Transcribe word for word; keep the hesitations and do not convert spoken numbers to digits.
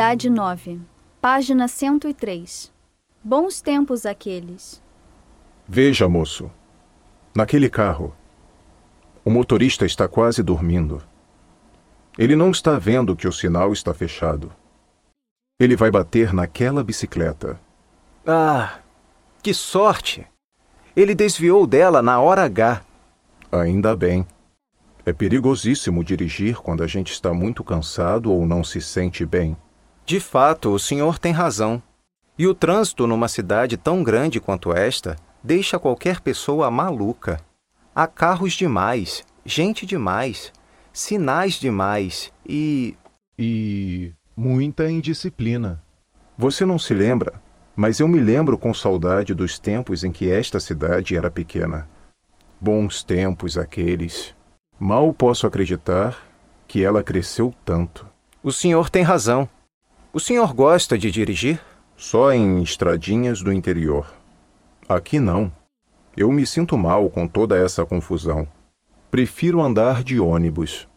Unidade nove, página cento e três. Bons tempos aqueles. Veja, moço. Naquele carro, o motorista está quase dormindo. Ele não está vendo que o sinal está fechado. Ele vai bater naquela bicicleta. Ah, que sorte! Ele desviou dela na hora H. Ainda bem. É perigosíssimo dirigir quando a gente está muito cansado ou não se sente bem. De fato, o senhor tem razão. E o trânsito numa cidade tão grande quanto esta deixa qualquer pessoa maluca. Há carros demais, gente demais, sinais demais e... E... muita indisciplina. Você não se lembra, mas eu me lembro com saudade dos tempos em que esta cidade era pequena. Bons tempos aqueles. Mal posso acreditar que ela cresceu tanto. O senhor tem razão. O senhor gosta de dirigir? Só em estradinhas do interior. Aqui não. Eu me sinto mal com toda essa confusão. Prefiro andar de ônibus.